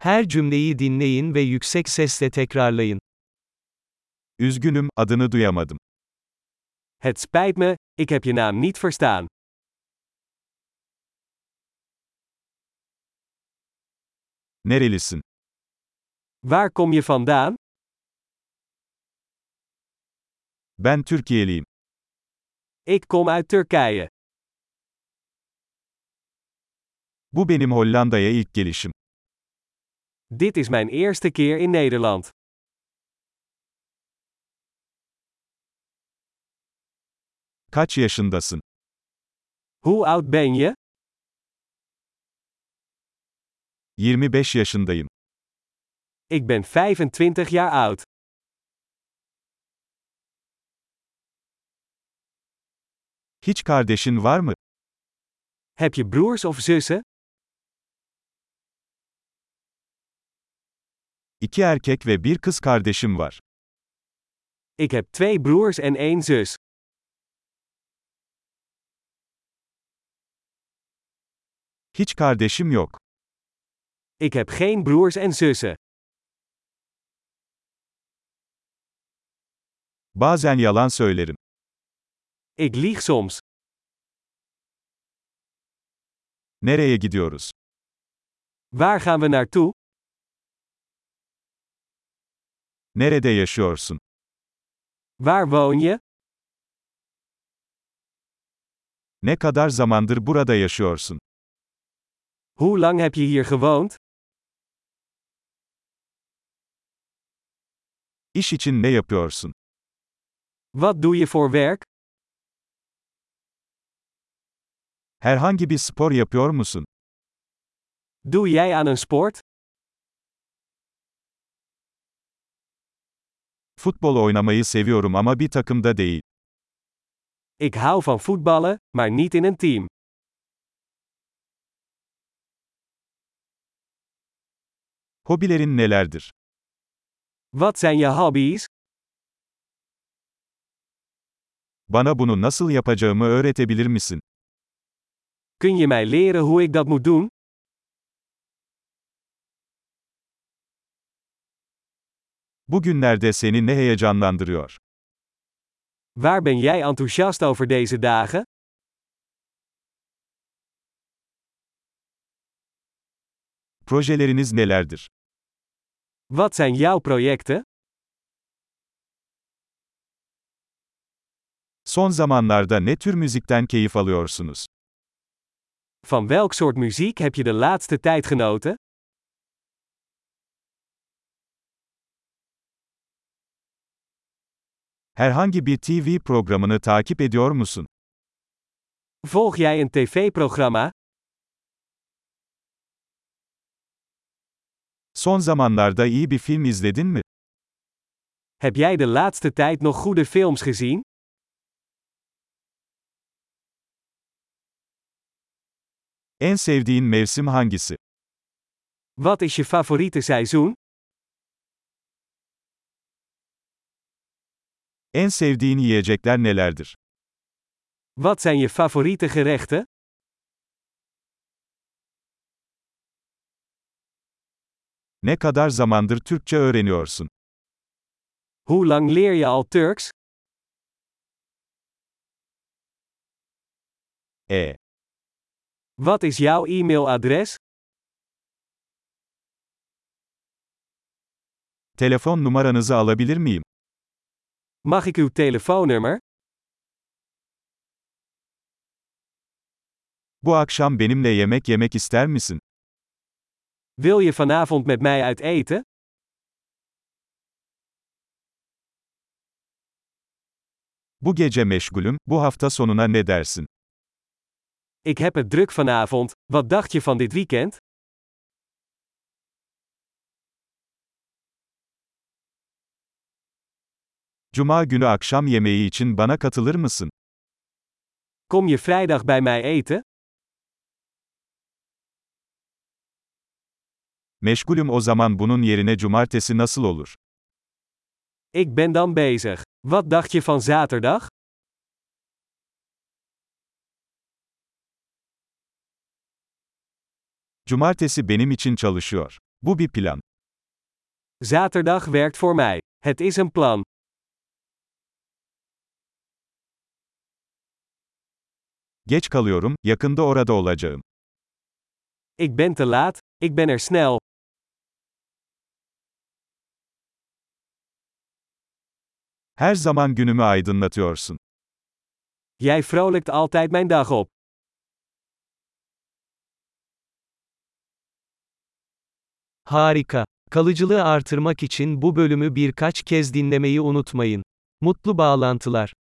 Her cümleyi dinleyin ve yüksek sesle tekrarlayın. Üzgünüm, adını duyamadım. Het spijt me, ik heb je naam niet verstaan. Nerelisin? Waar kom je vandaan? Ben Türkiyeliyim. Ik kom uit Turkije. Bu benim Hollanda'ya ilk gelişim. Dit is mijn eerste keer in Nederland. Kaç yaşındasın? Hoe oud ben je? 25 yaşındayım. Ik ben 25 jaar oud. Hiç kardeşin var mı? Heb je broers of zussen? 2 erkek ve bir kız kardeşim var. Ik heb 2 broers en 1 zus. Hiç kardeşim yok. Ik heb geen broers en zussen. Bazen yalan söylerim. Ik lieg soms. Nereye gidiyoruz? Waar gaan we naartoe? Nerede yaşıyorsun? Waar woon je? Ne kadar zamandır burada yaşıyorsun? Hoe lang heb je hier gewoond? İş için ne yapıyorsun? Wat doe je voor werk? Herhangi bir spor yapıyor musun? Doe jij aan een sport? Futbol oynamayı seviyorum ama bir takımda değil. Ik hou van voetballen, maar niet in een team. Hobilerin nelerdir? Wat zijn je hobby's? Bana bunu nasıl yapacağımı öğretebilir misin? Kun je mij leren hoe ik dat moet doen? Bugünlerde seni ne heyecanlandırıyor? Waar ben jij enthousiast over deze dagen? Projeleriniz nelerdir? Wat zijn jouw projecten? Son zamanlarda ne tür müzikten keyif alıyorsunuz? Van welk soort muziek heb je de laatste tijd genoten? Herhangi bir TV programını takip ediyor musun? Volg jij een tv-programma? Son zamanlarda iyi bir film izledin mi? Heb jij de laatste tijd nog goede films gezien? En sevdiğin mevsim hangisi? Wat is je favoriete seizoen? En sevdiğin yiyecekler nelerdir? Wat zijn je favoriete gerechten? Ne kadar zamandır Türkçe öğreniyorsun? Hoe lang leer je al Turks? Wat is jouw e-mailadres? Telefon numaranızı alabilir miyim? Mag ik uw telefoonnummer? Bu akşam benimle yemek yemek ister misin? Wil je vanavond met mij uit eten? Bu gece meşgulüm, bu hafta sonuna ne dersin? Ik heb het druk vanavond, wat dacht je van dit weekend? Cuma günü akşam yemeği için bana katılır mısın? Kom je vrijdag bij mij eten? Meşgulüm o zaman bunun yerine cumartesi nasıl olur? Ik ben dan bezig. Wat dacht je van zaterdag? Cumartesi benim için çalışıyor. Bu bir plan. Zaterdag werkt voor mij. Het is een plan. Geç kalıyorum, yakında orada olacağım. Ik ben te laat, ik ben er snel. Her zaman günümü aydınlatıyorsun. Jij vrolijkt altijd mijn dag op. Harika. Kalıcılığı artırmak için bu bölümü birkaç kez dinlemeyi unutmayın. Mutlu bağlantılar.